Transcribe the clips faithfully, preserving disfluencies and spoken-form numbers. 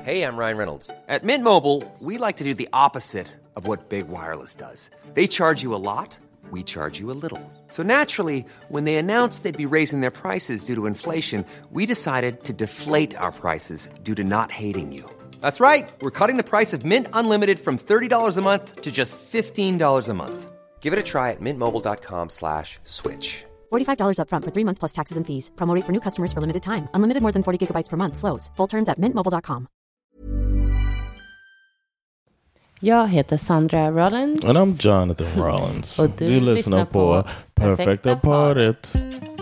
Hey, I'm Ryan Reynolds. At Mint Mobile, we like to do the opposite of what Big Wireless does. They charge you a lot, we charge you a little. So naturally, when they announced they'd be raising their prices due to inflation, we decided to deflate our prices due to not hating you. That's right. We're cutting the price of Mint Unlimited from thirty dollars a month to just fifteen dollars a month. Give it a try at mintmobile.com slash switch. forty-five dollars up front for three months plus taxes and fees. Promo rate for new customers for limited time. Unlimited more than forty gigabytes per month. Slows full terms at mint mobile dot com. Jag heter Sandra Rollins. And I'm Jonathan Rollins. Och du, du lyssnar, lyssnar på Perfekta Paret.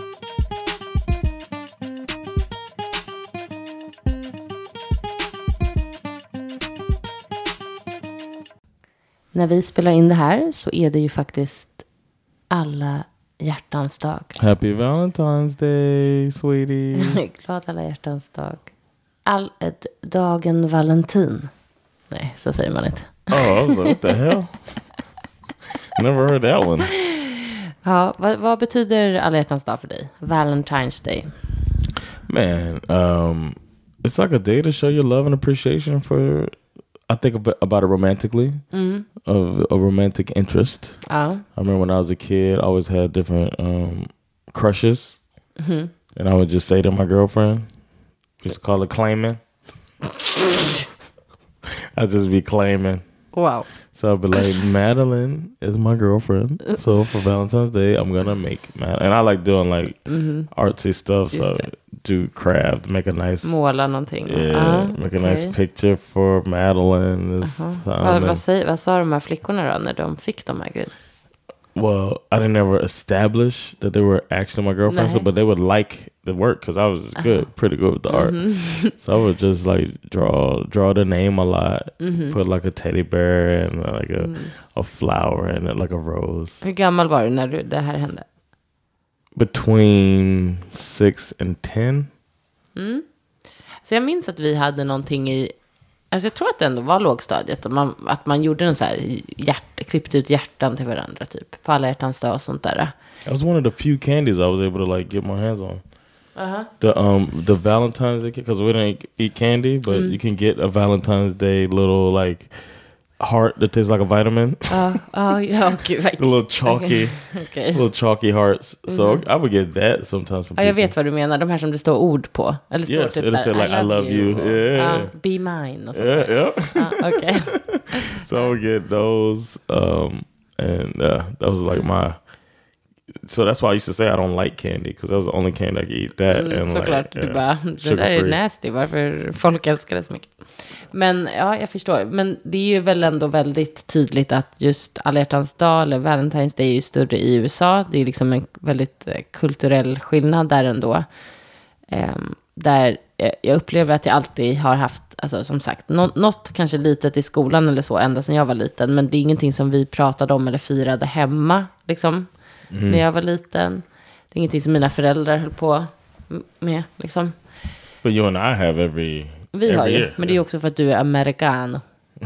När vi spelar in det här så är det ju faktiskt alla hjärtans dag. Happy Valentine's Day, sweetie. Glad alla hjärtans dag. All, ett, dagen Valentin. Nej, så säger man inte. Oh, what the hell? Never heard that one. Ja, vad, vad betyder alla hjärtans dag för dig? Valentine's Day. Man, um, it's like a day to show your love and appreciation for, I think about, about it romantically, mm. of a romantic interest. Oh. I remember when I was a kid, I always had different um, crushes. Mm-hmm. And I would just say to my girlfriend, we used to call it claiming. I'd just be claiming. Wow. So I'd be like, Madeline is my girlfriend. So for Valentine's Day, I'm going to make Madeline. And I like doing like mm-hmm. artsy stuff. Just so det. Do craft, make a nice... Måla någonting. Yeah, ah, make okay. a nice picture for Madeline. This uh-huh. time. Vad, vad, säger, vad sa de här flickorna då när de fick de här grejerna? Well, I didn't ever establish that they were actually my girlfriends, so, but they would like the work because I was uh-huh. good, pretty good with the mm-hmm. art. So I would just like draw draw the name a lot, mm-hmm. put like a teddy bear and uh, like a, mm. a flower and uh, like a rose. Hur gammal var du när du, det här hände? Between six and ten. Mm. Så jag minns att vi hade någonting i, alltså jag tror att det ändå var lågstadiet, att man, att man gjorde en så här hjärt, klippte ut hjärtan till varandra typ på alla hjärtans dag och sånt där. It was one of the few candies I was able to like get my hands on. Uh-huh. The um the Valentine's Day, because we didn't eat candy, but mm. you can get a Valentine's Day little like heart that tastes like a vitamin. Oh, oh yeah, okay, the little chalky, okay. little chalky hearts. So mm-hmm. I would get that sometimes from people. Ja, jag vet vad du menar. De här som det står ord på. Eller står yes, typ it'll say like I love you. you. Yeah. Uh, be mine. Och sånt yeah, yeah. Uh, okay. So I would get those, um, and uh, that was like my. So that's why I used to say I don't like candy, because that was the only candy I could eat. That mm, and såklart, like, du bara, det där är nasty, varför folk älskar det så mycket. Men ja, jag förstår. Men det är ju väl ändå väldigt tydligt att just alla hjärtans dag eller Valentine's Day är ju större i U S A. Det är liksom en väldigt kulturell skillnad där ändå. Um, där jag upplever att jag alltid har haft, alltså som sagt, något, något kanske litet i skolan eller så, ända sedan jag var liten. Men det är ingenting som vi pratade om eller firade hemma, liksom. Mm. När jag var liten. Det är ingenting som mina föräldrar höll på med, liksom. But you and I have every Vi every har ju, year. men det är också för att du är americano.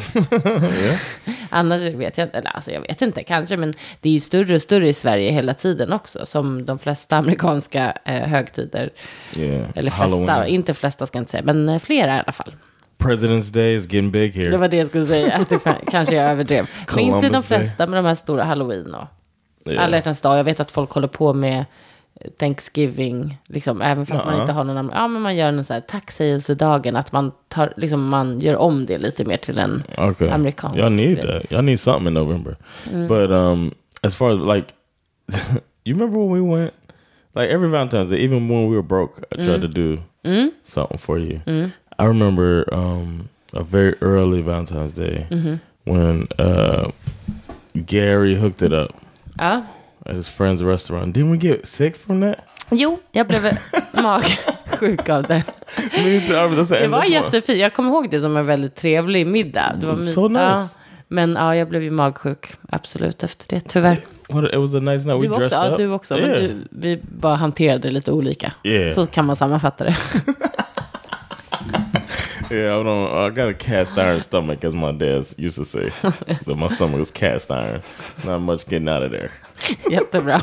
yeah. Annars vet jag inte, eller alltså jag vet inte kanske, men det är ju större och större i Sverige hela tiden också, som de flesta amerikanska eh, högtider. Yeah. Eller flesta, Halloween. Inte flesta ska jag inte säga, men eh, flera i alla fall. President's Day is getting big here. Det var det jag skulle säga, att det kanske jag överdrev. Men inte de flesta, med de här stora Halloween och yeah. alla hjärtans dag. Jag vet att folk håller på med Thanksgiving, liksom, även fast uh-huh. man inte har någon, ja, men man gör en så här tacksägelsedagen, att man tar, liksom, man gör om det lite mer till en okay. amerikansk. Y'all need grej. That. Y'all need something in November. Mm. But um, as far as like, you remember when we went, like every Valentine's Day, even when we were broke, I tried mm. to do mm. something for you. Mm. I remember um, a very early Valentine's Day mm-hmm. when uh, Gary hooked it up. Ja. At his friend's restaurant. Didn't we get sick from that? Jo, jag blev magsjuk av det. Det var jättefint. Jag kommer ihåg det som en väldigt trevlig middag. Det var so nice. Ja, men ja, jag blev ju magsjuk absolut efter det, tyvär. What, it was a nice night. We du dressed också, up. Du också, yeah. men du, vi bara hanterade det lite olika. Yeah. Så kan man sammanfatta det. Yeah, I, don't, I got a cast iron stomach, as my dad used to say. That my stomach was cast iron. Not much getting out of there. Jättebra.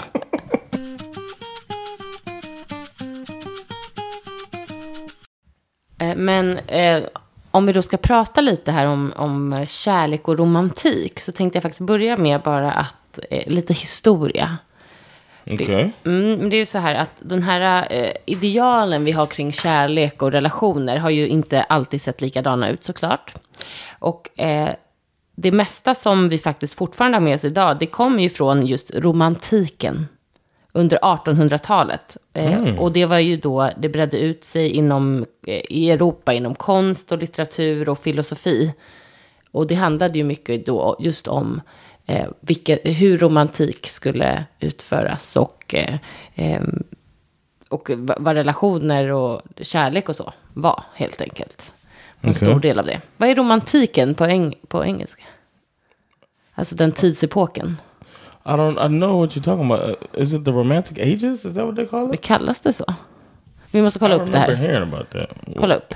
Men eh, om vi då ska prata lite här om, om kärlek och romantik, så tänkte jag faktiskt börja med bara att eh, lite historia. Okej. Okay. Mm, det är ju så här att den här eh, idealen vi har kring kärlek och relationer har ju inte alltid sett likadana ut, såklart. Och eh, det mesta som vi faktiskt fortfarande har med oss idag, det kommer ju från just romantiken under artonhundratalet. Mm. Eh, och det var ju då det bredde ut sig inom, eh, i Europa inom konst och litteratur och filosofi. Och det handlade ju mycket då just om eh, vilket, hur romantik skulle utföras och, eh, eh, och vad relationer och kärlek och så var, helt enkelt. En okay. stor del av det. Vad är romantiken på, eng- på engelska? Alltså den tidsepoken. I don't I know what you're talking about. Is it the romantic ages? Is that what they call it? Det kallas det så. Vi måste kolla I upp det här. Hearing about that. Kolla upp.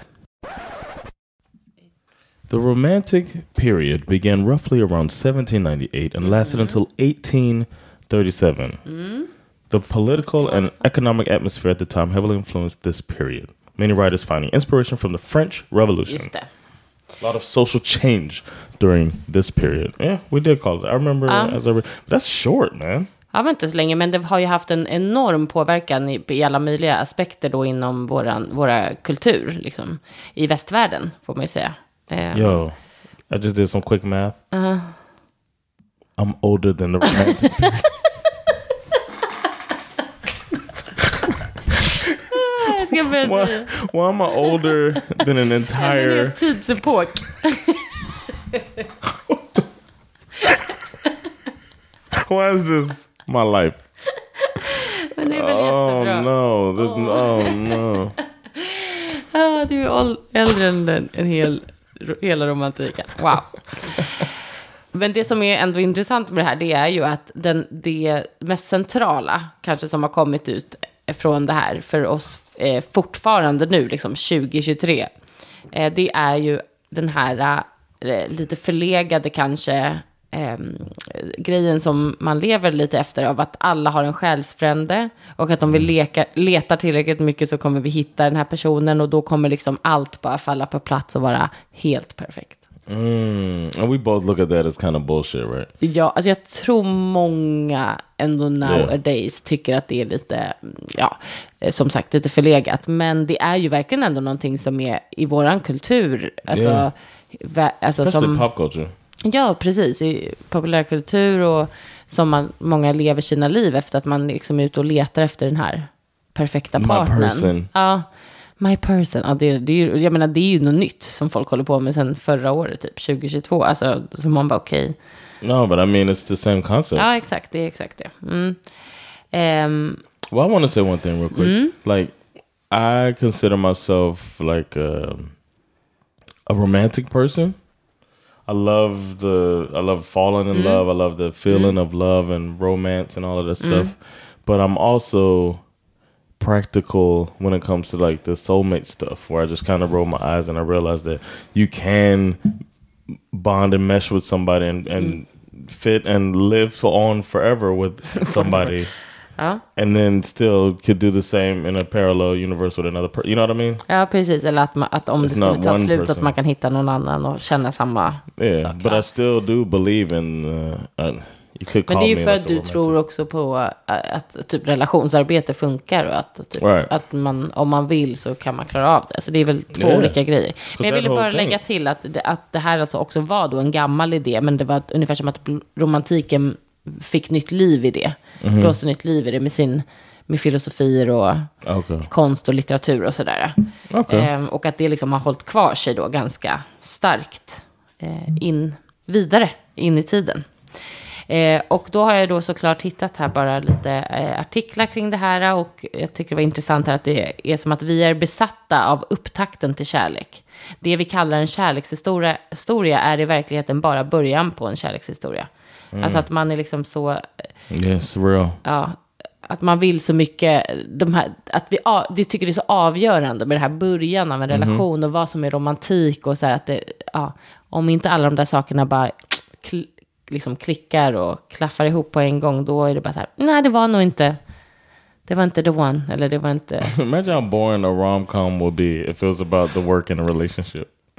The Romantic period began roughly around seventeen ninety-eight and lasted mm. until eighteen thirty-seven. Mm. The political and economic atmosphere at the time heavily influenced this period. Many writers finding inspiration from the French Revolution. Just det. A lot of social change during this period. Yeah, we did call it. I remember um, as a re- that's short, man. Ja, men inte så länge, men det har ju haft en enorm påverkan i, i alla möjliga aspekter då inom våran, våra kultur, liksom. I västvärlden, får man ju säga. Um, Yo, I just did some quick math. Uh-huh. I'm older than the romantic period. Why, why am I older than an entire... En tidsepok. Why is this my life? Men det är väl oh jättebra. no, this, oh. oh no. Ah, du är äldre än en, en hel, hela romantiken. Wow. Men det som är ändå intressant med det här, det är ju att den, det mest centrala kanske som har kommit ut från det här för oss eh, fortfarande nu, liksom tjugo tjugotre, eh, det är ju den här eh, lite förlegade kanske eh, grejen som man lever lite efter, av att alla har en själsfrände och att om vi leka, letar tillräckligt mycket så kommer vi hitta den här personen och då kommer liksom allt bara falla på plats och vara helt perfekt. Mm, and we both look at that as kind of bullshit, right? Ja, alltså jag tror många ändå nowadays yeah. tycker att det är lite, ja, som sagt, lite förlegat. Men det är ju verkligen ändå någonting som är i våran kultur. Alltså, yeah. vä- alltså som pop culture. Ja, precis. I populärkultur och som man, många lever sina liv efter att man liksom är ute och letar efter den här perfekta partnern. My person. Ja. My person, ja, det, det är ju, jag menar det är ju något nytt som folk håller på med sen förra året, typ tjugo tjugotvå, alltså som man bara okej. Okay. No, but I mean it's the same concept. Ja, exakt, det är exakt det. Mm. Um, well, I want to say one thing real quick. Mm. Like, I consider myself like a, a romantic person. I love the, I love falling in mm. love. I love the feeling mm. of love and romance and all of that stuff. Mm. But I'm also practical when it comes to like the soulmate stuff, where I just kind of roll my eyes and I realize that you can bond and mesh with somebody and, and mm. fit and live on forever with somebody. Ja. And then still could do the same in a parallel universe with another person. You know what I mean? Ja, precis. Eller att, man, att om It's det skulle ta slut person. Att man kan hitta någon annan och känna samma yeah, sak. But ja. I still do believe in... Uh, uh, Men det är ju för att du tror också på att, att typ relationsarbete funkar och att, typ, right. att man, om man vill så kan man klara av det. Så det är väl två yeah. olika grejer. Men jag ville bara lägga till att det, att det här alltså också var då en gammal idé, men det var ungefär som att romantiken fick nytt liv i det. Mm-hmm. Blåste nytt liv i det med sin med filosofier och okay. konst och litteratur och sådär. Okay. Ehm, och att det liksom har hållit kvar sig då ganska starkt eh, in vidare in i tiden. Eh, och då har jag då såklart hittat här bara lite eh, artiklar kring det här, och jag tycker det var intressant här att det är som att vi är besatta av upptakten till kärlek. Det vi kallar en kärlekshistoria historia är i verkligheten bara början på en kärlekshistoria. Mm. Alltså att man är liksom så... Yes, real. Ja, att man vill så mycket, de här, att vi, vi tycker det är så avgörande med det här början av en relation mm-hmm. och vad som är romantik och så här att det, ja, om inte alla de där sakerna bara kl- liksom klickar och klaffar ihop på en gång, då är det bara så här, nej det var nog inte, det var inte the one, eller det var inte... Imagine how boring a rom-com would be if it was about the work in a relationship.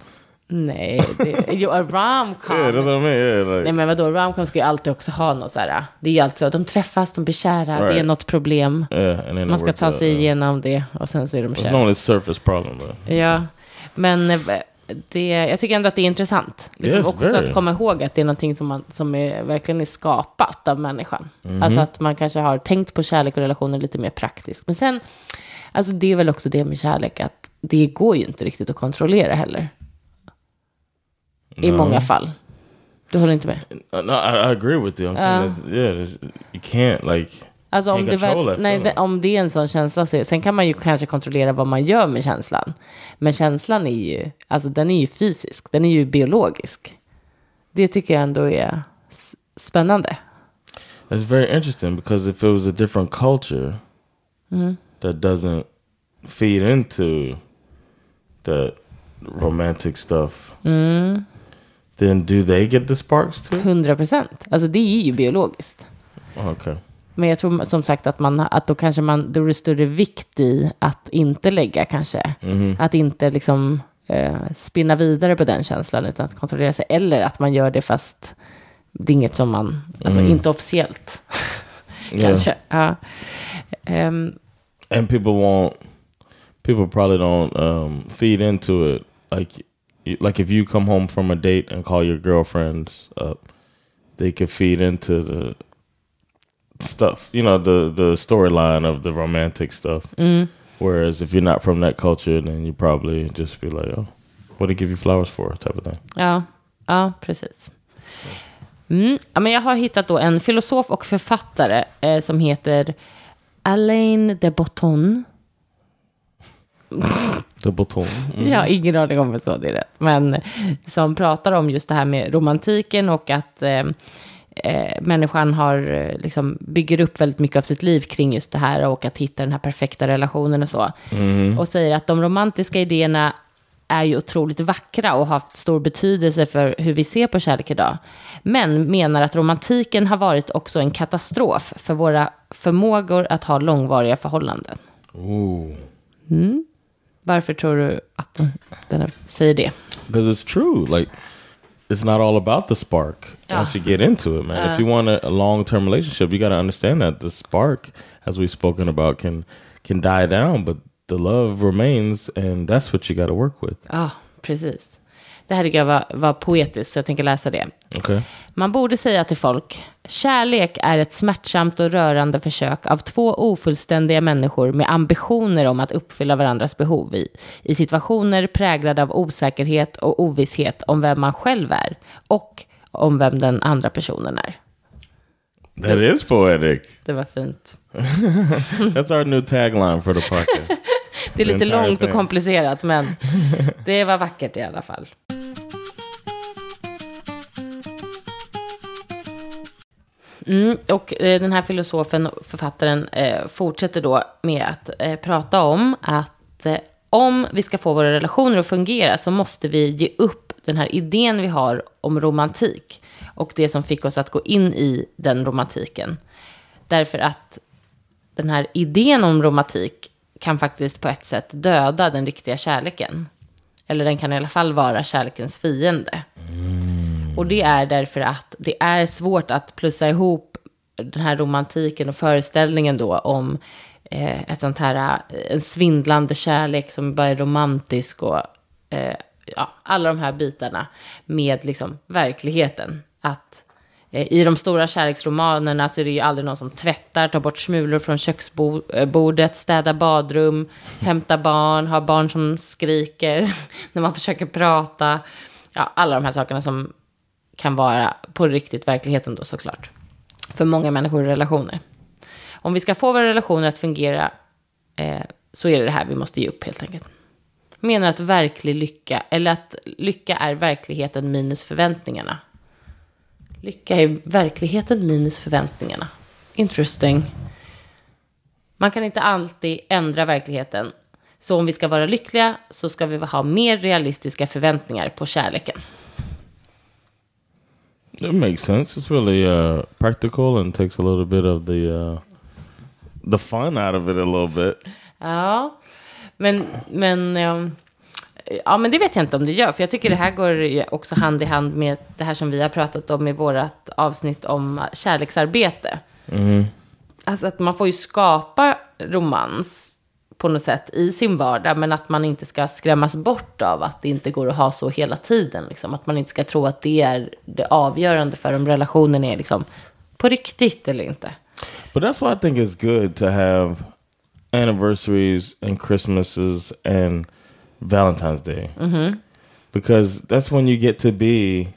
Nej, det, jo, a rom-com. Yeah, that's what I mean. Yeah, like, Nej, men vadå, rom-com ska ju alltid också ha något så här. Det är ju alltid så, de träffas, de blir kära, right. det är något problem. Yeah, and then Man ska ta sig out, igenom det och sen så är de It's kära. only surface problem, but. Ja, men det, jag tycker ändå att det är intressant. Liksom Yes, också very. att komma ihåg att det är någonting som, man, som är, verkligen är skapat av människan. Mm-hmm. Alltså att man kanske har tänkt på kärlek och relationer lite mer praktiskt. Men sen, alltså det är väl också det med kärlek, att det går ju inte riktigt att kontrollera heller. I No. många fall. Du håller inte med? No, I, I agree with you. I'm saying Uh. this, yeah, this, you can't like. Alltså om can't det, control väl, that nej, feeling. det, om det är en sån känsla så, sen kan man ju kanske kontrollera vad man gör med känslan. Men känslan är ju, alltså den är ju fysisk, den är ju biologisk. Det tycker jag ändå är s- spännande. It's very interesting because if it was a different culture Mm. that doesn't feed into the romantic stuff, Mm. then do they get the sparks too? hundra procent. Alltså det är ju biologiskt. Okay. Men jag tror som sagt att, man, att då kanske man, då är det större vikt i att inte lägga kanske. Mm-hmm. Att inte liksom eh, spinna vidare på den känslan utan att kontrollera sig. Eller att man gör det fast det är inget som man, alltså Mm. inte officiellt. Yeah. Kanske. Ja. Um, And people won't. People probably don't um, feed into it. Like, you- like if you come home from a date and call your girlfriends up, they could feed into the stuff. You know, the the storyline of the romantic stuff. mm, Whereas if you're not from that culture, then you probably just be like, "Oh, what do you give you flowers for?" type of thing. ja, ja, precis. Mm. Ja, men jag har hittat då en filosof och författare eh, som heter Alain de Botton. The baton. Mm. Jag har ingen aning om vad så det är rätt. Men som pratar om just det här med romantiken och att eh, eh, människan har eh, liksom bygger upp väldigt mycket av sitt liv kring just det här och att hitta den här perfekta relationen och så. Mm-hmm. Och säger att de romantiska idéerna är ju otroligt vackra och har haft stor betydelse för hur vi ser på kärlek idag. Men menar att romantiken har varit också en katastrof för våra förmågor att ha långvariga förhållanden. Ooh. Varför tror du att den, den här säger det? Because it's true. Like, it's not all about the spark Yeah. once you get into it, man. If you want a, a long-term relationship, you got to understand that the spark, as we've spoken about, can can die down, but the love remains, and that's what you got to work with. Ja, precis. Det här tycker jag var, var poetiskt, så jag tänker läsa det. Okay. Man borde säga till folk, kärlek är ett smärtsamt och rörande försök av två ofullständiga människor med ambitioner om att uppfylla varandras behov i, i situationer präglade av osäkerhet och ovisshet om vem man själv är och om vem den andra personen är. That is poetic. Det var fint. That's our new tagline for the podcast. Det är lite entire långt och thing. komplicerat, men det var vackert i alla fall. Mm, och eh, den här filosofen och författaren eh, fortsätter då med att eh, prata om att eh, om vi ska få våra relationer att fungera så måste vi ge upp den här idén vi har om romantik och det som fick oss att gå in i den romantiken. Därför att den här idén om romantik kan faktiskt på ett sätt döda den riktiga kärleken. Eller den kan i alla fall vara kärlekens fiende. Mm. Och det är därför att det är svårt att plussa ihop den här romantiken och föreställningen då om eh, ett sånt här, en svindlande kärlek som bara är romantisk och eh, ja, alla de här bitarna med liksom verkligheten. Att eh, i de stora kärleksromanerna så är det ju aldrig någon som tvättar, tar bort smulor från köksbordet, städar badrum, hämtar barn, har barn som skriker när man försöker prata. Ja, alla de här sakerna som kan vara på riktigt verkligheten då såklart. För många människor i relationer. Om vi ska få våra relationer att fungera eh, så är det det här vi måste ge upp helt enkelt. Menar att verklig lycka, eller att lycka är verkligheten minus förväntningarna. Lycka är verkligheten minus förväntningarna. Interesting. Man kan inte alltid ändra verkligheten. Så om vi ska vara lyckliga så ska vi ha mer realistiska förväntningar på kärleken. It makes sense. It's really uh, practical and takes a little bit of the uh, the fun out of it a little bit. Ja, men, men um, Ja, men det vet jag inte om det gör. För jag tycker det här går också hand i hand med det här som vi har pratat om i vårat avsnitt om kärleksarbete. Mm. Alltså att man får ju skapa romans på något sätt i sin vardag, men att man inte ska skrämmas bort av att det inte går att ha så hela tiden. Liksom. Att man inte ska tro att det är det avgörande för om relationen är liksom på riktigt eller inte. But that's why I think it's good to have anniversaries and Christmases and Valentine's Day. Mm-hmm. Because that's when you get to be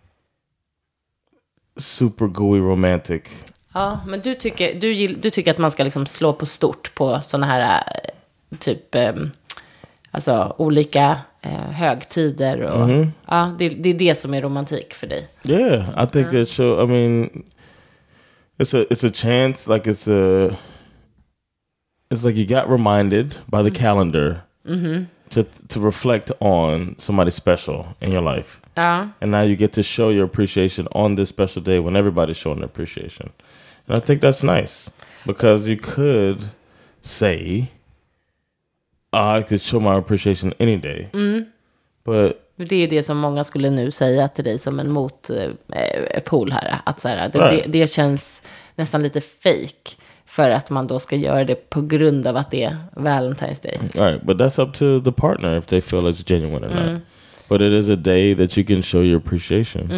super gooey romantic. Ja, men du tycker, du, gill, du tycker att man ska liksom slå på stort på såna här typ eh, alltså olika eh, högtider och Mm-hmm. ja, det, det är det som är romantik för dig. Yeah, I think that show. I mean, it's a it's a chance. Like it's a. It's like you got reminded by the calendar Mm-hmm. to to reflect on somebody special in your life. Ja. And now you get to show your appreciation on this special day when everybody's showing their appreciation. And I think that's nice because you could say, oh, I could show my appreciation any day. Mm. But Det är det som många skulle nu säga till dig som en motpol här. Att så här, det, Right. det, det känns nästan lite fake för att man då ska göra det på grund av att det är Valentine's Day. all right, but that's up to the partner if they feel it's genuine or not. But it is a day that you can show your appreciation.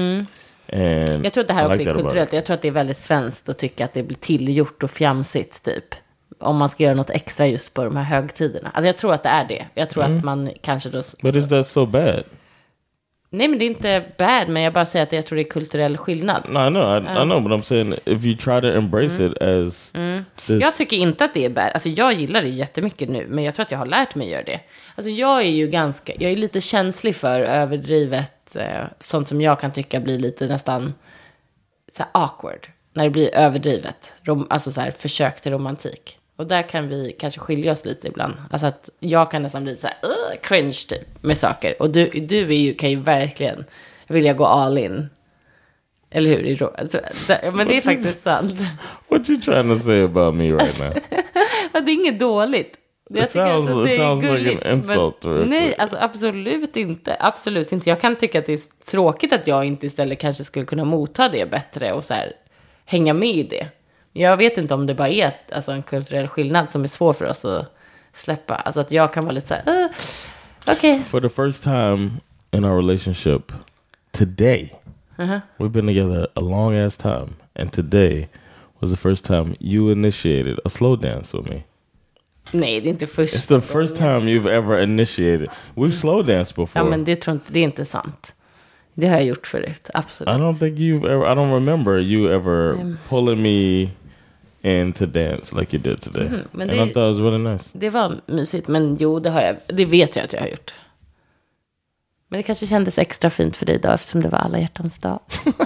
And Jag tror att det här I också like är that about kulturellt. it. Jag tror att det är väldigt svenskt att tycka att det blir tillgjort och fjamsigt typ. Om man ska göra något extra just på de här högtiderna. Alltså jag tror att det är det. Jag tror att man kanske då... But is that so bad? Nej, men det är inte bad, men jag bara säger att jag tror det är kulturell skillnad. No, I know, I, I know, but I'm saying if you try to embrace it as this, Jag tycker inte att det är bad. Alltså jag gillar det jättemycket nu, men jag tror att jag har lärt mig att göra det. Alltså jag är ju ganska, jag är lite känslig för överdrivet, eh, sånt som jag kan tycka blir lite nästan så här awkward. När det blir överdrivet. Rom, alltså så här försök till romantik. Och där kan vi kanske skilja oss lite ibland. Alltså att jag kan nästan bli så här uh, cringe typ med saker. Och du, du är ju, kan ju verkligen vilja gå all in. Eller hur? Alltså, det, men det är faktiskt sant. what you trying to say about me right now? Ja, det är inget dåligt. Jag It tycker sounds, att det it är sounds like gulligt, an insult. men, real nej, quick. alltså absolut inte. Absolut inte. Jag kan tycka att det är tråkigt att jag inte istället kanske skulle kunna motta det bättre och så här, hänga med i det. Jag vet inte om det bara är ett, alltså en kulturell skillnad som är svår för oss att släppa. Alltså att jag kan vara lite så här, uh, okej. Okay. For the first time in our relationship today, Uh-huh. we've been together a long ass time, and today was the first time you initiated a slow dance with me. Nej, det är inte först. It's the first time you've ever initiated. We've slow danced before. Ja, men det tror inte, det är inte sant. Det har jag gjort förut, absolut. I don't think you've ever, I don't remember you ever Um. pulling me in to dance like you did today. Mhm, men and det- I thought it was really nice. Det var mysigt, men jo, det har jag. Det vet jag att jag har gjort. Men det kanske kändes extra fint för dig då, eftersom det var alla hjärtans dag.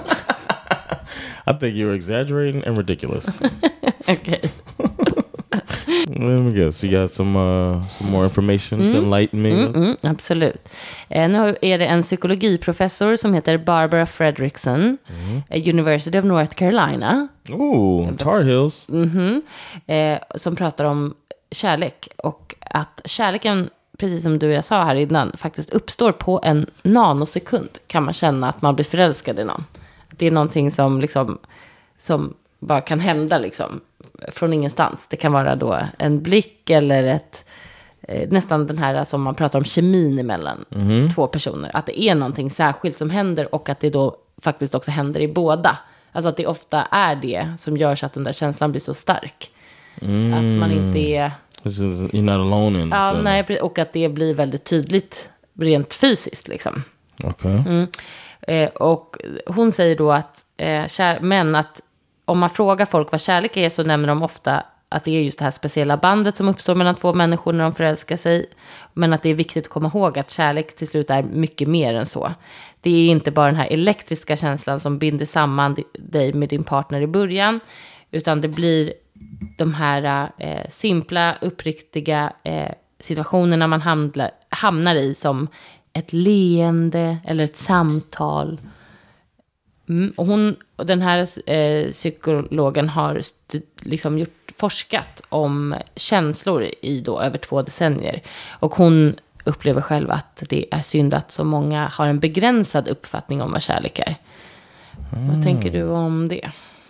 I think you're exaggerating and ridiculous. Okej. Let me guess. You got some uh, some more information to enlighten me with? Mm, absolut. Eh, nu är det en psykologiprofessor som heter Barbara Fredrickson, eh, University of North Carolina, Ooh, Tar Heels. eh, som pratar om kärlek. Och att kärleken, precis som du och jag sa här innan, faktiskt uppstår på en nanosekund. Kan man känna att man blir förälskad i någon. Det är någonting som liksom, som bara kan hända liksom från ingenstans. Det kan vara då en blick eller ett, eh, nästan den här som man pratar om, kemin emellan två personer. Att det är någonting särskilt som händer och att det då faktiskt också händer i båda. Alltså att det ofta är det som gör så att den där känslan blir så stark. Att man inte är... This is, you're not alone in the Ja, feeling. nej, pre- och att det blir väldigt tydligt rent fysiskt liksom. Okay. Eh, och hon säger då att, eh, kär, men att om man frågar folk vad kärlek är så nämner de ofta att det är just det här speciella bandet som uppstår mellan två människor när de förälskar sig. Men att det är viktigt att komma ihåg att kärlek till slut är mycket mer än så. Det är inte bara den här elektriska känslan som binder samman dig med din partner i början, utan det blir de här eh, simpla, uppriktiga eh, situationerna man hamnar, hamnar i, som ett leende eller ett samtal. Mm, och hon, och den här eh, psykologen har st- liksom gjort, forskat om känslor i då över två decennier. Och hon upplever själv att det är synd att så många har en begränsad uppfattning om vad kärlek är. Mm. Vad tänker du om det?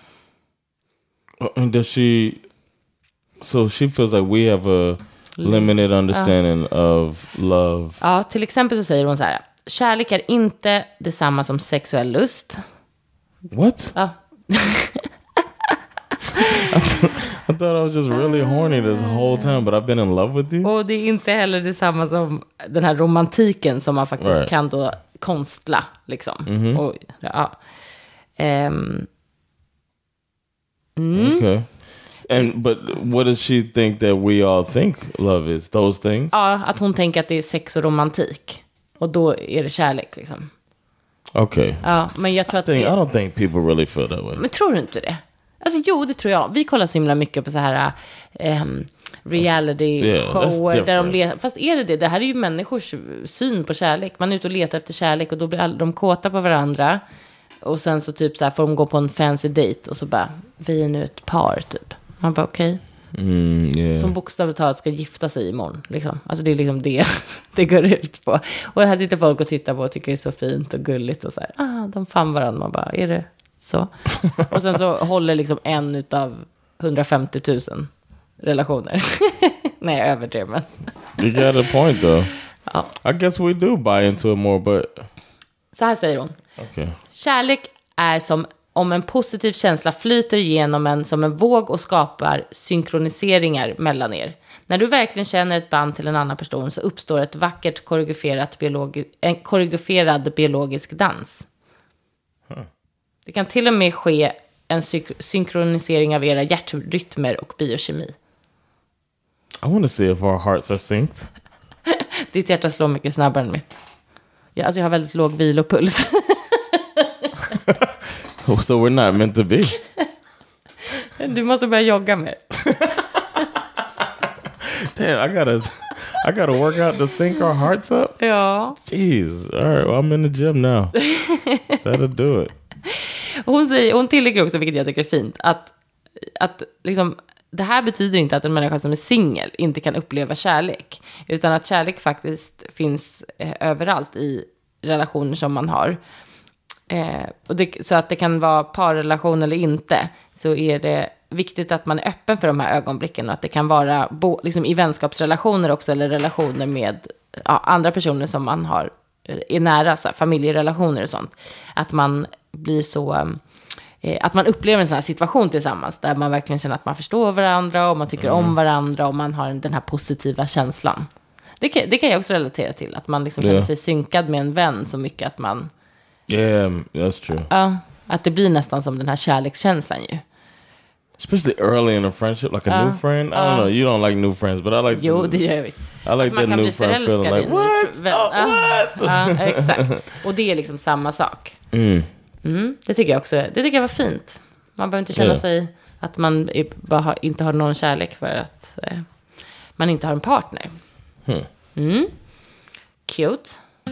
Does she... So she feels like we have a limited understanding ja. of love. Ja, till exempel så säger hon så här: kärlek är inte detsamma som sexuell lust. What? Ja. I, th- I thought I was just really horny this whole time, but I've been in love with you. Och det är inte heller detsamma som den här romantiken som man faktiskt right. kan då konstla liksom. Mm-hmm. Och, ja. Um, mm. Okay. And but what does she think that we all think love is? Those things? Ja, att hon tänker att det är sex och romantik. Och då är det kärlek liksom. Okay. Ja, men jag tror I att think, det... I don't think people really feel that way. Men tror du inte det? Alltså jo, det tror jag. Vi kollar så himla mycket på så här um, reality-shower. Yeah, där de letar. Fast är det det? Det här är ju människors syn på kärlek. Man är ute och letar efter kärlek och då blir all, de kåta på varandra. Och sen så typ så här får de gå på en fancy date och så bara, vi är nu ett par typ. Man bara okej. Okay. Mm, yeah. Som bokstavligt talat ska gifta sig imorgon. Liksom. Alltså det är liksom det det går ut på. Och här sitter folk och tittar på och tycker det är så fint och gulligt. Och så här, ah, de fann varandra. Man bara, är det så? Och sen så håller liksom en utav hundrafemtio tusen relationer. Nej, jag överdrev, men. You got a point though. Ja. I guess we do buy into it more, but... Så här säger hon. Okay. Kärlek är som om en positiv känsla flyter igenom en som en våg och skapar synkroniseringar mellan er. När du verkligen känner ett band till en annan person så uppstår ett vackert koreograferat biologi- en koreograferad biologisk dans. Huh. Det kan till och med ske en sy- synkronisering av era hjärtrytmer och biokemi. I want to see if our hearts are synced. Ditt hjärta slår mycket snabbare än mitt. Ja, alltså jag har väldigt låg vilopuls. So we're not meant to be. Du måste börja jogga mer. Damn, I gotta, I gotta work out to sync our hearts up. Ja. Jeez, all right, well, I'm in the gym now. That'll do it. Hon säger, hon tillägger också, vilket jag tycker är fint, att, att liksom, det här betyder inte att en människa som är singel inte kan uppleva kärlek, utan att kärlek faktiskt finns eh, överallt i relationer som man har. Eh, och det, så att det kan vara parrelation eller inte, så är det viktigt att man är öppen för de här ögonblicken och att det kan vara bo, liksom i vänskapsrelationer också, eller relationer med ja, andra personer som man har är nära, så här, familjerelationer och sånt, att man blir så eh, att man upplever en sån här situation tillsammans där man verkligen känner att man förstår varandra och man tycker mm. om varandra och man har den här positiva känslan. Det kan, det kan jag också relatera till, att man liksom yeah. känner sig synkad med en vän så mycket att man yeah, that's true. Ja, att det blir nästan som den här kärlekskänslan ju. Especially early in a friendship, like a uh, new friend. I don't uh, know, you don't like new friends, but I like jo, the, det gör jag visst. I like that new friend feeling like, what? Vän, oh, uh, what? Uh, exakt. Och det är liksom samma sak. Mm. Mm, det tycker jag också, det tycker jag var fint. Man behöver inte känna yeah. sig att man är, bara har, inte har någon kärlek för att eh, man inte har en partner. Hmm. Mm. Cute.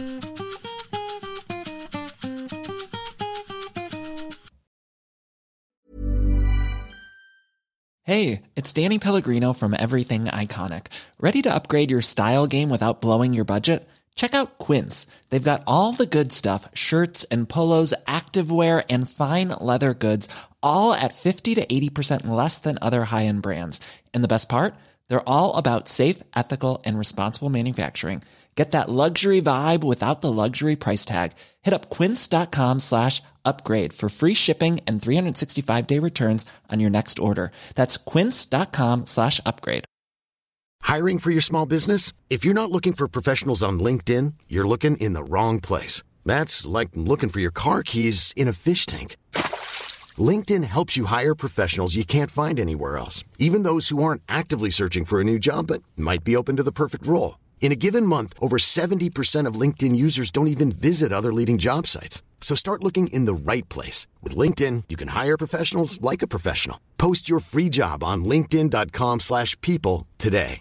Hey, it's Danny Pellegrino from Everything Iconic. Ready to upgrade your style game without blowing your budget? Check out Quince. They've got all the good stuff, shirts and polos, activewear, and fine leather goods, all at fifty to eighty percent less than other high-end brands. And the best part? They're all about safe, ethical, and responsible manufacturing. Get that luxury vibe without the luxury price tag. Hit up quince.com slash upgrade for free shipping and three sixty-five day returns on your next order. That's quince.com slash upgrade. Hiring for your small business? If you're not looking for professionals on LinkedIn, you're looking in the wrong place. That's like looking for your car keys in a fish tank. LinkedIn helps you hire professionals you can't find anywhere else, even those who aren't actively searching for a new job but might be open to the perfect role. In a given month, over seventy percent of LinkedIn users don't even visit other leading job sites. So start looking in the right place. With LinkedIn, you can hire professionals like a professional. Post your free job on linkedin.com slash people today.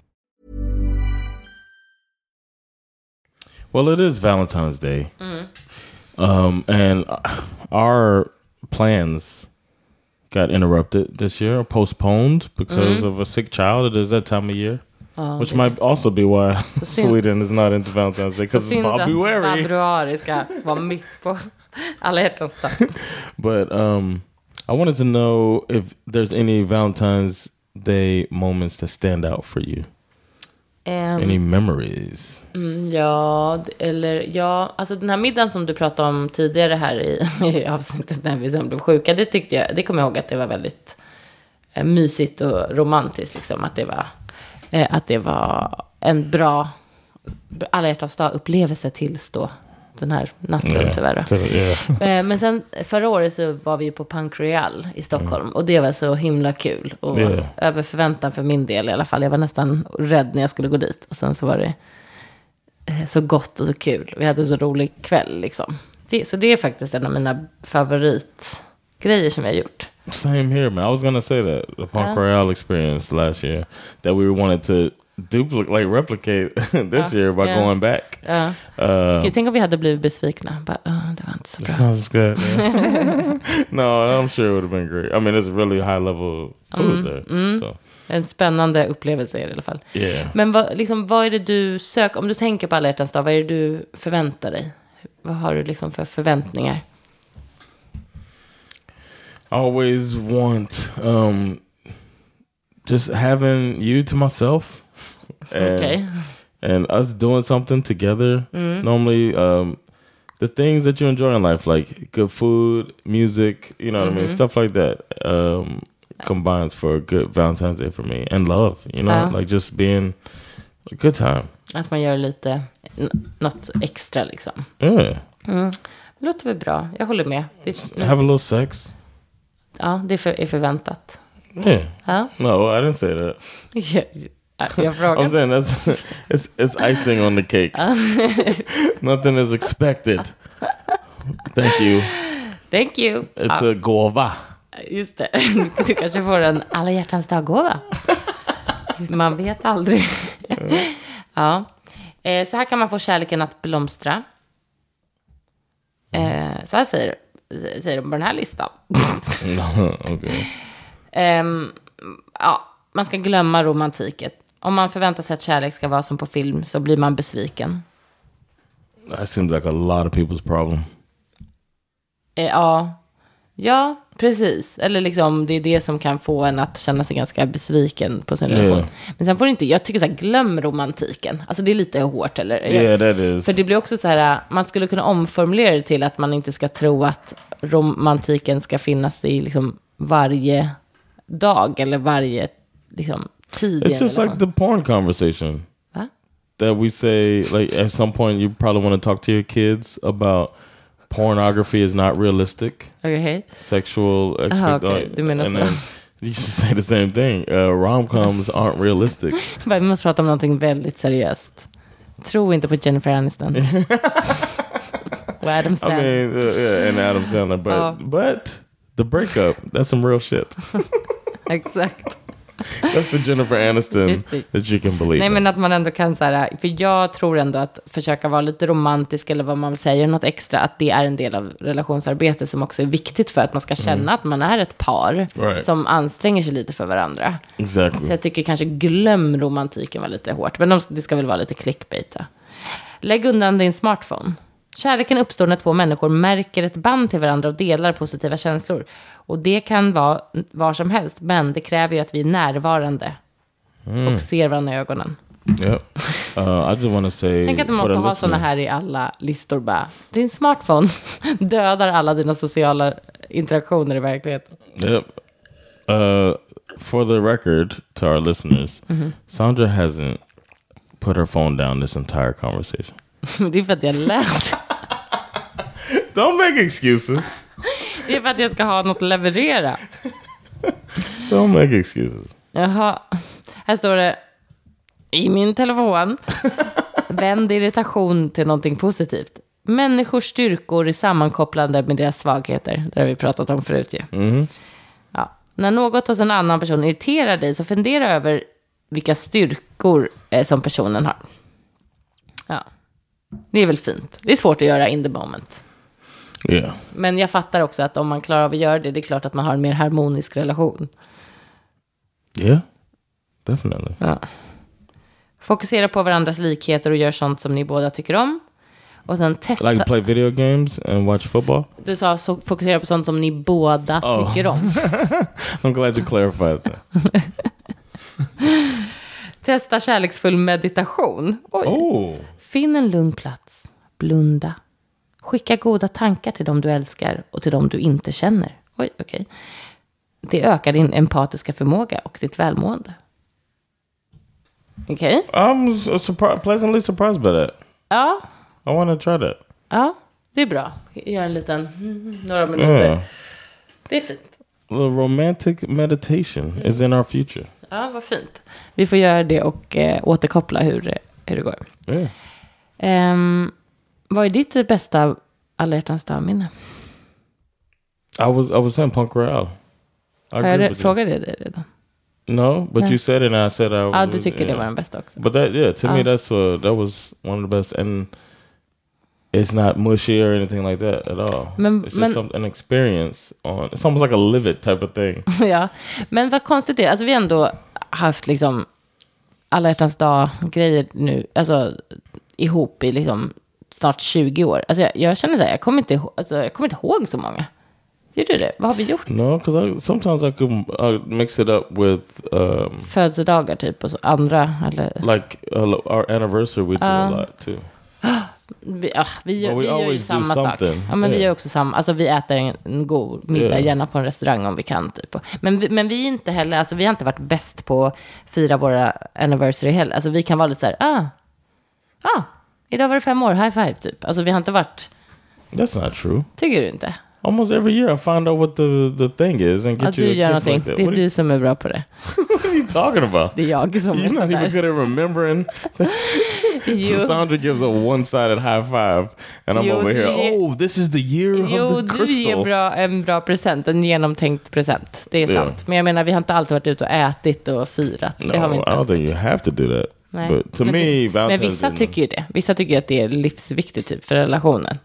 Well, it is Valentine's Day. Mm. Um, and our plans got interrupted this year, or postponed because mm. of a sick child. It is that time of year. Ja, which might also be why så synd, Sweden is not into Valentine's Day, because it's February. Februari ska vara mitt på alla hjärtans dag. But um, I wanted to know if there's any Valentine's Day moments that stand out for you. Um, any memories? Mm, ja, eller ja, alltså den här middagen som du pratade om tidigare här i, i avsnittet när vi sen blev sjuka, det tyckte jag, det kommer jag ihåg att det var väldigt eh, mysigt och romantiskt liksom, att det var eh, att det var en bra alla hjärtans dag upplevelse tills då den här natten yeah, tyvärr. Yeah. Men sen förra året så var vi på Punk Royal i Stockholm mm. och det var så himla kul och yeah. över förväntan för min del i alla fall. Jag var nästan rädd när jag skulle gå dit och sen så var det så gott och så kul. Vi hade en så rolig kväll liksom. Så det är faktiskt en av mina favoritgrejer som jag har gjort. Same here, man. I was gonna say that the Punk yeah. Royal experience last year that we wanted to duplicate, like replicate this uh, year by yeah. going back. Uh. Uh, Gud, tänk om vi hade blivit besvikna. But, uh, det var inte så bra. Sounds good. Yeah. No, I'm sure it would have been great. I mean, it's really high level food mm, there. Mm. So. En spännande upplevelse i alla fall. Yeah. Men vad, liksom, vad är det du söker? Om du tänker på alla hjärtans dag, vad är det du förväntar dig? Vad har du liksom för förväntningar? I always want um, just having you to myself. And, okay. And us doing something together. Mm. Normally, um, the things that you enjoy in life, like good food, music, you know what mm-hmm. I mean? Stuff like that um, combines for a good Valentine's Day for me. And love, you know? Uh. Like just being a good time. Att man gör lite, n- något extra liksom. Yeah. Mm. Det låter väl bra. Jag håller med. Det, Have a little sex. Ja, det är, för, är förväntat. Yeah. Ja. No, I didn't say that. Yeah. Jag frågar. I'm saying that's it's, it's icing on the cake. Nothing is expected. Thank you. Thank you. It's ja. a gåva. Just det. Du kanske får en alla hjärtans dag-gåva. Man vet aldrig. Ja. Eh, så här kan man få kärleken att blomstra. Eh, så här säger, säger de på den här listan. Okay. Eh, ja, man ska glömma romantiket. Om man förväntar sig att kärlek ska vara som på film så blir man besviken. That seems like a lot of people's problem. Eh, ja, ja, precis. Eller liksom det är det som kan få en att känna sig ganska besviken på sin relation. Yeah. Men sen får det inte, jag tycker så här, glöm romantiken. Alltså det är lite hårt, eller? Yeah, that is. För det blir också så här, man skulle kunna omformulera det till att man inte ska tro att romantiken ska finnas i liksom varje dag eller varje liksom tid. It's just like the porn conversation. Huh? That we say, like at some point you probably want to talk to your kids about pornography is not realistic. Okay. Sexual expect- okay. Du menar and så. then you should say the same thing. Uh, rom-coms aren't realistic. Vi måste prata om någonting väldigt seriöst. Tro inte på Jennifer Aniston. Och Adam Sandler. I mean, uh, yeah, and Adam Sandler. But, oh. but the breakup, that's some real shit. Exakt. That's the Jennifer Aniston that you can believe. Nej, men att man ändå kan så här, för jag tror ändå att försöka vara lite romantisk eller vad man säger, något extra, att det är en del av relationsarbete som också är viktigt för att man ska känna mm. att man är ett par right. som anstränger sig lite för varandra. Exactly. Så jag tycker kanske glöm romantiken var lite hårt, men det ska väl vara lite clickbait. Lägg undan din smartphone. Kärleken uppstår när två människor märker ett band till varandra och delar positiva känslor. Och det kan vara var som helst, men det kräver ju att vi är närvarande mm. och ser varandra i ögonen. Yep. Uh, I just want to say, tänk att man måste ha såna här i alla listor bara. Din smartphone dödar alla dina sociala interaktioner i verkligheten. Yep. Uh, for the record, to our listeners, mm-hmm. Sandra hasn't put her phone down this entire conversation. Det är för att jag lät. Don't make excuses. Det är för att jag ska ha något att leverera. Don't make excuses. Jaha. Här står det i min telefon. Vänd irritation till någonting positivt. Människors styrkor är sammankopplande med deras svagheter. Det har vi pratat om förut ju. Mm. Ja. När något hos en annan person irriterar dig så fundera över vilka styrkor eh, som personen har. Ja. Det är väl fint. Det är svårt att göra in the moment. Yeah. Men jag fattar också att om man klarar av att göra det, det är klart att man har en mer harmonisk relation. Yeah, definitely. Ja. Fokusera på varandras likheter och gör sånt som ni båda tycker om. Och sen testa... Like play video games and watch football? Du sa så, fokusera på sånt som ni båda oh. tycker om. I'm glad you clarified that. Testa kärleksfull meditation. Oj. Oh. Finn en lugn plats. Blunda. Skicka goda tankar till dem du älskar och till dem du inte känner. Oj, okej. Okay. Det ökar din empatiska förmåga och ditt välmående. Okej. Okay. I'm surpri- pleasantly surprised by that. Ja. I want to try that. Ja, det är bra. Gör en liten, några minuter. Yeah. Det är fint. A romantic meditation mm. is in our future. Ja, vad fint. Vi får göra det och eh, återkoppla hur, hur det går. Yeah. Um, vad är ditt bästa alla hjärtans dag-minne? I was, I was saying Punk Royale. Har jag re- frågat det redan? No, but no. You said it and I said I was... Ja, du tycker yeah. det var den bästa också. But that, yeah, to uh. me that's what, that was one of the best. And it's not mushy or anything like that at all. Men, it's just men, some, an experience on... It's almost like a live it type of thing. Ja, men vad konstigt det är. Alltså vi har ändå haft liksom alla hjärtans dag-grejer nu. Alltså ihop i liksom snart tjugo år. Alltså jag, jag känner så här, jag kommer inte ihåg, alltså, jag kommer inte ihåg så många. Gör du det? Vad har vi gjort? No, because sometimes I could I mix it up with um, födelsedagar typ och så andra eller like uh, our anniversary we do uh, a lot too. Vi, ja, vi, gör, vi gör ju samma sak. Ja, men yeah. vi gör också samma. Alltså vi äter en, en god middag yeah. gärna på en restaurang om vi kan typ. Men vi, men vi är inte heller, alltså vi har inte varit bäst på att fira våra anniversary heller. Alltså vi kan vara lite så här, ah, ah, idag var det fem år, high five typ. Alltså vi har inte varit. That's not true. Tycker du inte? Almost every year I find out what the, the thing is and get ja, you du gör a gift någonting. Like that. Det är what du you... som är bra på det. What are you talking about? Det är jag som You're är not even good at remembering. Sandra gives a one-sided high five and I'm jo, over here. Ger... Oh, this is the year jo, of the crystal. Du ger bra, en bra present, en genomtänkt present. Det är yeah. sant. Men jag menar, vi har inte alltid varit ute och ätit och firat. No, det har vi inte I don't think you have to do that. Nej. But to men, me, det, men vissa tycker ju det. Vissa tycker att det är livsviktigt typ för relationen.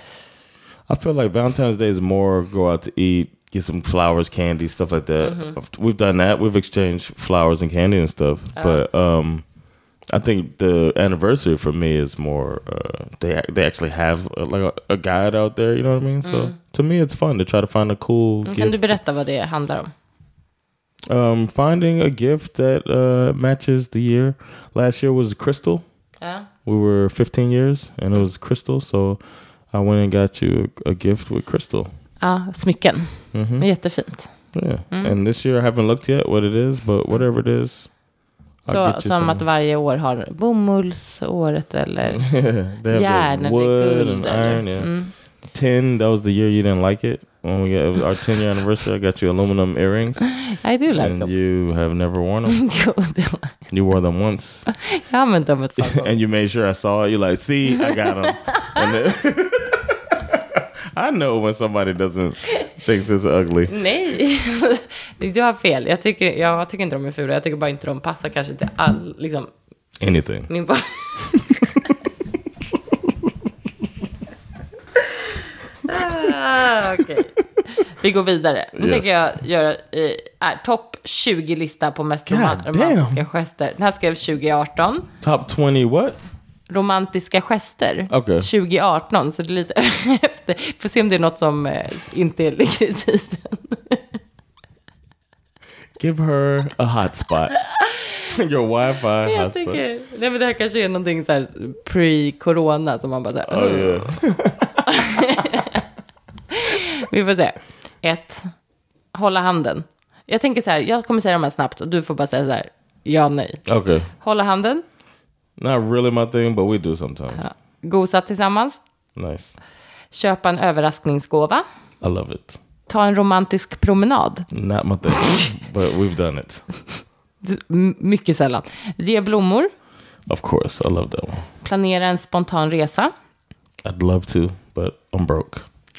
I feel like Valentine's Day is more go out to eat, get some flowers, candy, stuff like that. Mm-hmm. We've done that. We've exchanged flowers and candy and stuff. Uh. But um, I think the anniversary for me is more. Uh, they they actually have a, like a, a guide out there. You know what I mean? So mm. to me, it's fun to try to find a cool. Kan gift. du berätta vad det handlar om? Um, finding a gift that uh, matches the year. Last year was crystal. Yeah. We were fifteen years, and it was crystal. So. I went and got you a, a gift with crystal. Ja, smycken. Mm-hmm. Jättefint. Yeah. Mm. And this year I haven't looked yet what it is, but whatever it is. Så som some. Att varje år har bomullsåret eller järn eller guld. And iron, yeah. mm. Tin, that was the year you didn't like it. When we got our ten year anniversary, I got you aluminum earrings. I do like and them. And you have never worn them. You wore them once. Jag har använt dem ett par gånger. And you made sure I saw it. You're like, see, I got them. And then I know when somebody doesn't thinks it's ugly. Nej, du har fel. Jag tycker, jag tycker inte de är fula. Jag tycker bara inte de passar kanske till all, liksom. Anything. Min bara... ah, okej. Okay. Vi går vidare. Nu yes. tänker jag göra äh, topp tjugo-lista på mest God romantiska damn. Gester. Den här skrev tjugo arton. Top twenty what? Romantiska gester. Okay. tjugo arton, så det är lite efter. Får se om det är något som eh, inte ligger i tiden. Give her a hotspot. Your wifi jag hotspot. Tycker, nej, men det här kanske är någonting så här pre-corona som man bara så här. Oh, yeah. Vi får se. Ett. Hålla handen. Jag tänker så här, jag kommer säga de här snabbt och du får bara säga så här, ja, nej. Okay. Hålla handen. Not really my thing, but we do sometimes. Ja. Gosa tillsammans. Nice. Köpa en överraskningsgåva. I love it. Ta en romantisk promenad. Not my thing, but we've done it. M- mycket sällan. Ge blommor. Of course, I love that one. Planera en spontan resa. I'd love to, but I'm broke.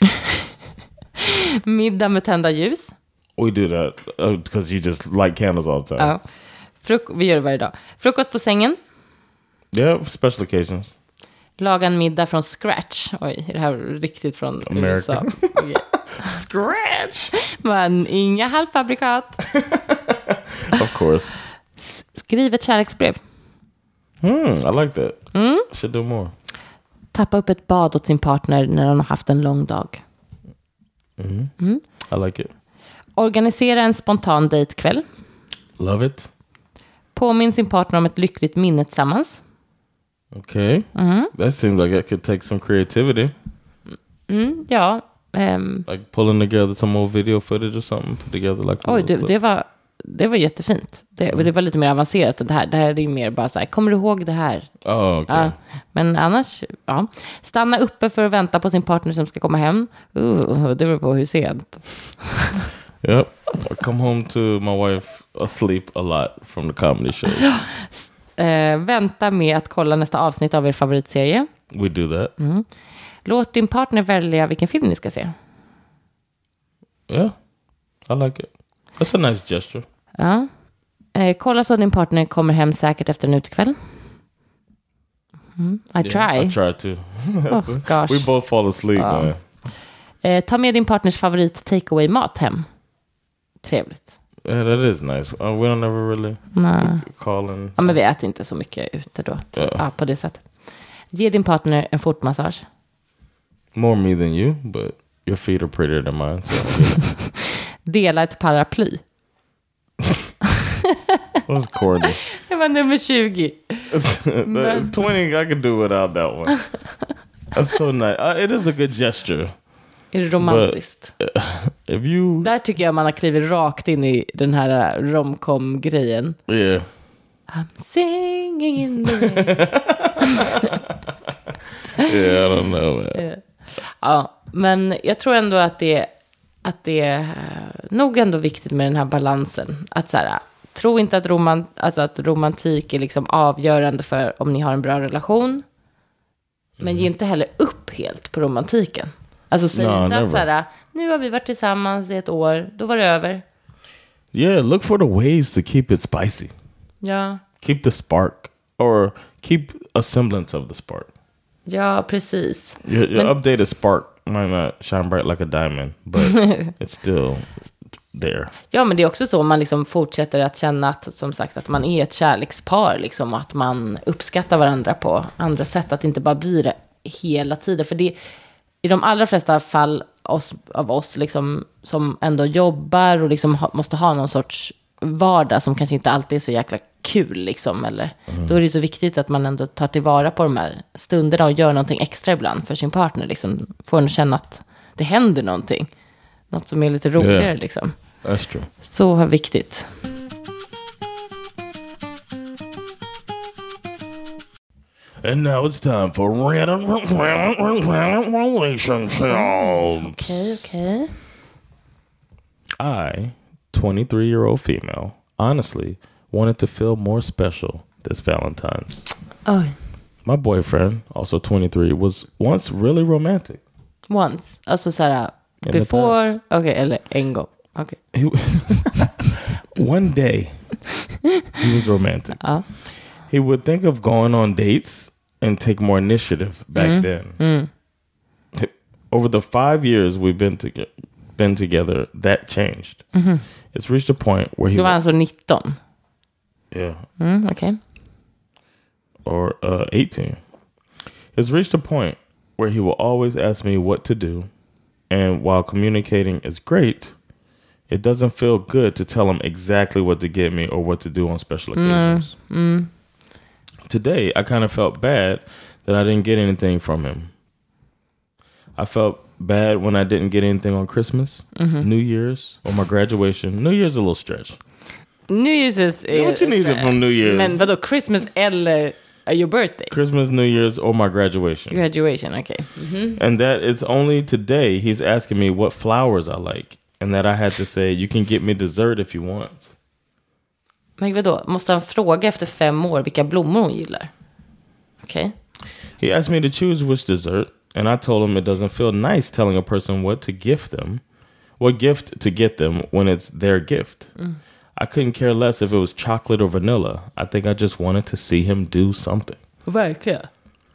Middag med tända ljus. We do that because uh, you just light candles all the time. Ja. Fruk- vi gör det varje dag. Frukost på sängen. Yeah, special occasions. Laga en middag från scratch. Oj, är det här riktigt från America. U S A? Okay. Scratch! Men inga halvfabrikat. Of course. S- skriv ett kärleksbrev. Hmm, I like that. Mm. Should do more. Tappa upp ett bad åt sin partner när han har haft en lång dag. Mm. Mm. I like it. Organisera en spontan dejtkväll. Love it. Påminn sin partner om ett lyckligt minne tillsammans. Okay. Mm. That seems like it could take some creativity. Mm, ja. Um, like pulling together some old video footage or something. Put together like oj, det, det, var, det var jättefint. Det, mm. det var lite mer avancerat än det här. Det här är ju mer bara så här, kommer du ihåg det här? Oh, okay. Ja, men annars, ja. Stanna uppe för att vänta på sin partner som ska komma hem. Uh, det beror på hur sent. Yep. I come home to my wife asleep a lot from the comedy show. Uh, vänta med att kolla nästa avsnitt av er favoritserie. We do that. Mm. Låt din partner välja vilken film ni ska se. Yeah, I like it. That's a nice gesture. Ja. Uh, kolla så din partner kommer hem säkert efter en utekväll. Mm. I yeah, try. I try to. Oh, gosh. We both fall asleep. Ja. Man. Uh, ta med din partners favorit takeaway mat hem. Trevligt. Yeah, that is nice. Uh, we don't ever really call in. Ja, men vi äter inte så mycket ute då. Yeah. Ja, på det sättet. Ge din partner en fotmassage. More me than you, but your feet are prettier than mine. So dela ett paraply. What's corny? Det var nummer tjugo. That's twenty. I could do without that one. That's so nice. Uh, it is a good gesture. Är det romantiskt? But, uh, if you... Där tycker jag man har klivit rakt in i den här romcom-grejen. Yeah. I'm singing in the rain. Yeah, I don't know. Man. Ja, men jag tror ändå att det, att det är nog ändå viktigt med den här balansen. Att så här, tro inte att, romant, alltså att romantik är liksom avgörande för om ni har en bra relation. Men mm. ge inte heller upp helt på romantiken. Alltså säg no, inte att så här, nu har vi varit tillsammans i ett år, då var det över. Yeah, look for the ways to keep it spicy. Ja. Keep the spark. Or keep a semblance of the spark. Ja, precis. Your, your Men, updated spark might not shine bright like a diamond, but it's still there. Ja, men det är också så man liksom fortsätter att känna att, som sagt, att man är ett kärlekspar liksom, och att man uppskattar varandra på andra sätt, att det inte bara blir det hela tiden. För det i de allra flesta fall oss, av oss liksom, som ändå jobbar och liksom ha, måste ha någon sorts vardag som kanske inte alltid är så jäkla kul liksom, eller mm. då är det så viktigt att man ändå tar tillvara på de här stunderna och gör någonting extra ibland för sin partner liksom, får en känna att det händer någonting, något som är lite roligare yeah. liksom. That's true. Så viktigt. And now it's time for random relationships. Okay, okay. I, twenty-three-year-old female, honestly wanted to feel more special this Valentine's. Oh. My boyfriend, also twenty-three, was once really romantic. Once? Alltså såhär, before? Okej, okay, eller en gång. Okay. He, one day, he was romantic. Uh. He would think of going on dates and take more initiative back mm. then. Mm. Over the five years we've been together, been together, that changed. Mm-hmm. It's reached a point where he... Du var alltså nitton? Yeah. Mm, okay. Or uh, eighteen. It's reached a point where he will always ask me what to do. And while communicating is great, it doesn't feel good to tell him exactly what to get me or what to do on special occasions. Mm. Mm. Today, I kind of felt bad that I didn't get anything from him. I felt bad when I didn't get anything on Christmas, mm-hmm. New Year's, or my graduation. New Year's is a little stretch. New Year's is... You know what you needed from New Year's? Men vadå, Christmas eller uh, your birthday? Christmas, New Year's, or my graduation. Graduation, okay. Mm-hmm. And that it's only today he's asking me what flowers I like. And that I had to say, you can get me dessert if you want. Men vadå, måste han fråga efter fem år vilka blommor hon gillar? Okej. Okay. He asked me to choose which dessert. And I told him it doesn't feel nice telling a person what to gift them. What gift to get them when it's their gift. Mm. I couldn't care less if it was chocolate or vanilla. I think I just wanted to see him do something. Verkligen.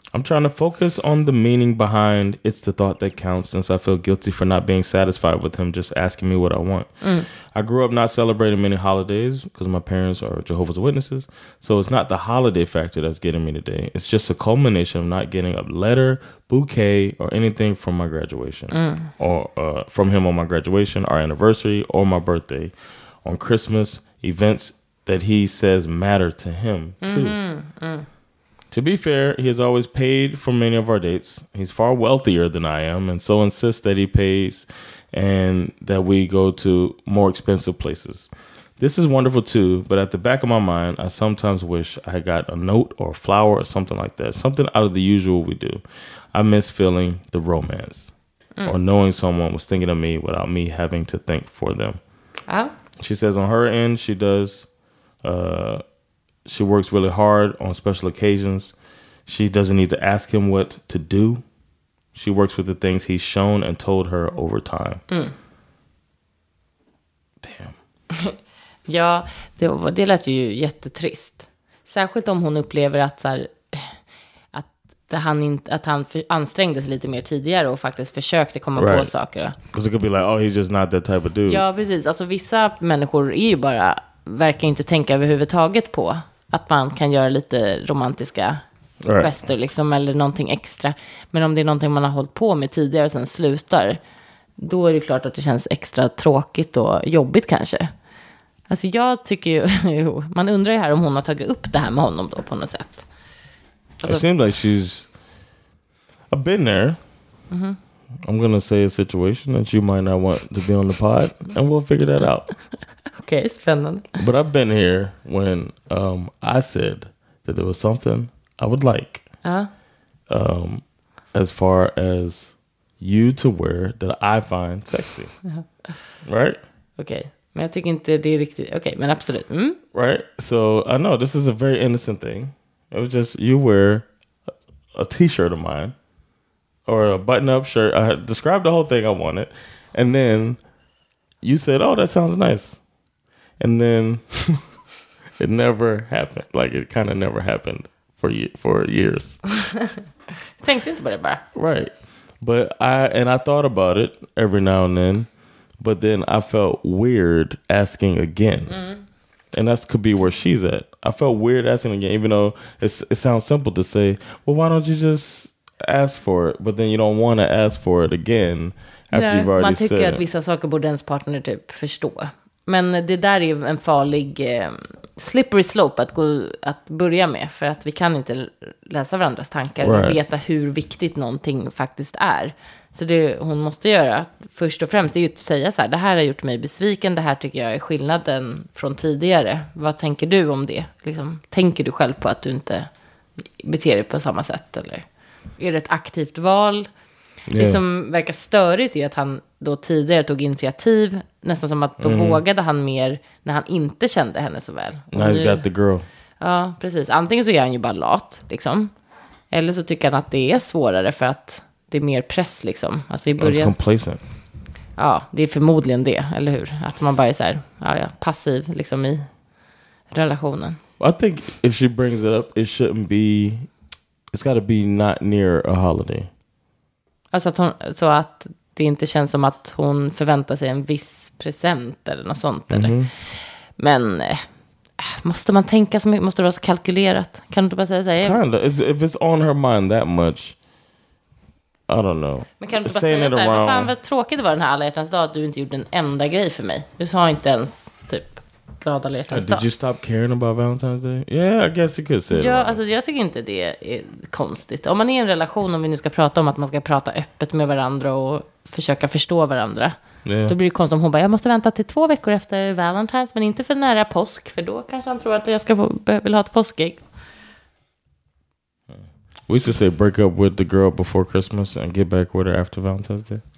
I'm trying to focus on the meaning behind it's the thought that counts, since I feel guilty for not being satisfied with him just asking me what I want. Mm. I grew up not celebrating many holidays because my parents are Jehovah's Witnesses. So it's not the holiday factor that's getting me today. It's just a culmination of not getting a letter, bouquet, or anything from my graduation. Mm. Or uh, from him on my graduation, our anniversary, or my birthday. On Christmas, events that he says matter to him, too. Mm-hmm. Mm. To be fair, he has always paid for many of our dates. He's far wealthier than I am, and so insists that he pays and that we go to more expensive places. This is wonderful too, but at the back of my mind, I sometimes wish I had got a note or a flower or something like that, something out of the usual we do. I miss feeling the romance mm. or knowing someone was thinking of me without me having to think for them. Oh. She says on her end, she does... Uh, She works really hard on special occasions. She doesn't need to ask him what to do. She works with the things he's shown and told her over time. Mm. Damn. Ja, det, det lät ju jättetrist. Särskilt om hon upplever att, så här, att, han, inte, att han för, ansträngde sig lite mer tidigare och faktiskt försökte komma right. på saker. Because it could be like, oh, he's just not that type of dude. Ja, precis. Alltså vissa människor är ju bara, verkar inte tänka överhuvudtaget på att man kan göra lite romantiska right. gester liksom, eller någonting extra. Men om det är någonting man har hållit på med tidigare och sen slutar, då är det klart att det känns extra tråkigt och jobbigt kanske. Alltså jag tycker ju, man undrar ju här om hon har tagit upp det här med honom då på något sätt. Alltså, it seems like she's I've been there. Mm-hmm. I'm gonna say a situation that you might not want to be on the pod, and we'll figure that out. Okej, okay, spännande. But I've been here when um, I said that there was something I would like. Uh-huh. Um, as far as you to wear that I find sexy. Uh-huh. Right? Okej, okay. Men jag tycker inte det är riktigt... Okej, okay, men absolut. Mm. Right? So I know this is a very innocent thing. It was just you wear a, a t-shirt of mine or a button-up shirt. I had described the whole thing I wanted. And then you said, oh, that sounds nice. And then it never happened. Like it kind of never happened for ye- for years. Tänkte inte på det bara. Right. But I and I thought about it every now and then. But then I felt weird asking again. Mm. And that could be where she's at. I felt weird asking again, even though it's, it sounds simple to say, well, why don't you just ask for it? But then you don't want to ask for it again after Nej, you've already man tycker said att vissa saker borde ens partner typ förstå. Men det där är en farlig eh, slippery slope att, gå, att börja med. För att vi kan inte läsa varandras tankar right. och veta hur viktigt någonting faktiskt är. Så det hon måste göra först och främst är ju att säga så här: det här har gjort mig besviken, det här tycker jag är skillnaden från tidigare. Vad tänker du om det? Liksom, tänker du själv på att du inte beter dig på samma sätt? Eller är det ett aktivt val? Yeah. Det som verkar störigt är att han då tidigare tog initiativ. Nästan som att då mm. vågade han mer när han inte kände henne så väl. Now he's got the girl. Ja, precis. Antingen så är han ju bara lat, liksom. Eller så tycker han att det är svårare för att det är mer press, liksom. Alltså i början... complacent. Ja, det är förmodligen det, eller hur? Att man bara är så här, ja, ja, passiv, liksom, i relationen. I think if she brings it up, it shouldn't be... It's got to be not near a holiday. Alltså att hon, så att det inte känns som att hon förväntar sig en viss present eller något sånt. Mm-hmm. Eller. Men äh, måste man tänka så mycket? Måste det vara så kalkylerat? Kan du inte bara säga så här? Kinda. It's, if it's on her mind that much, I don't know. Men kan du bara säga så här, vad fan vad tråkigt det var den här alla hjärtans dag att du inte gjorde en enda grej för mig. Du sa inte ens typ glad alla hjärtans dag. Did you stop caring about Valentine's Day? Yeah, I guess you could say Ja, alltså jag tycker inte det är konstigt. Om man är i en relation, om vi nu ska prata om att man ska prata öppet med varandra och försöka förstå varandra. Yeah. Då blir det konstigt om hon bara, jag måste vänta till två veckor efter Valentine's, men inte för nära påsk, för då kanske han tror att jag ska få, vill ha ett påskägg. We used to say break up with the girl before Christmas and get back with her after Valentine's Day.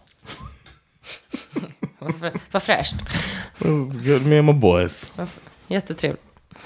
Vad fräscht. Good, me and my boys. Jättetrevligt.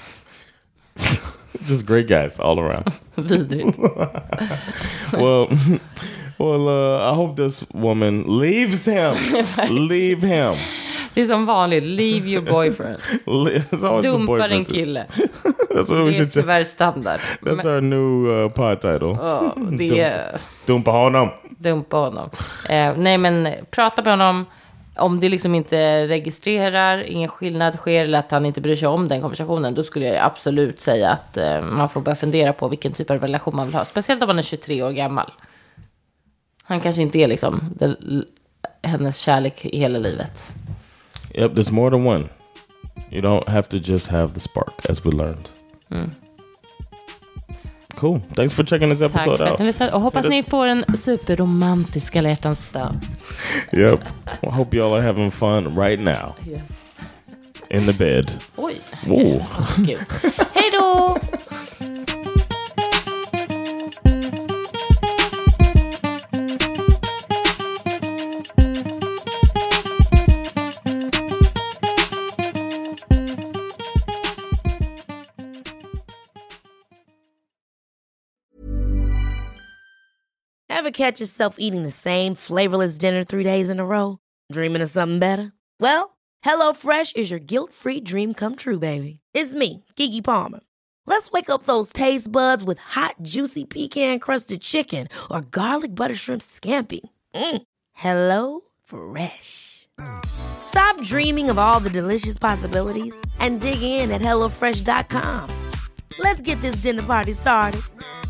Just great guys all around. Vidrigt. well, well, uh, I hope this woman leaves him. Leave him. Det är som vanligt, leave your boyfriend. Dumpar en kille. That's what det är tyvärr standard. That's Men, our new uh, pod title. Oh, det är... Dumpa honom. Dumpa honom. Eh, nej, men prata med honom. Om det liksom inte registrerar, ingen skillnad sker eller att han inte bryr sig om den konversationen, då skulle jag absolut säga att eh, man får börja fundera på vilken typ av relation man vill ha. Speciellt om man är tjugotre år gammal. Han kanske inte är liksom det, hennes kärlek i hela livet. Yep, there's more than one. You don't have to just have the spark, as we learned. Mm. Cool. Thanks for checking this episode out. Tack för att ni lyssnade. Och hoppas ni får en superromantisk alla hjärtans dag. Yep. I hope y'all are having fun right now. Yes. In the bed. Oj. Okay. Oh, gud. Hej då! Ever catch yourself eating the same flavorless dinner three days in a row? Dreaming of something better? Well, HelloFresh is your guilt-free dream come true, baby. It's me, Keke Palmer. Let's wake up those taste buds with hot, juicy pecan-crusted chicken or garlic butter shrimp scampi. Mm. Hello Fresh. Stop dreaming of all the delicious possibilities and dig in at hello fresh dot com. Let's get this dinner party started.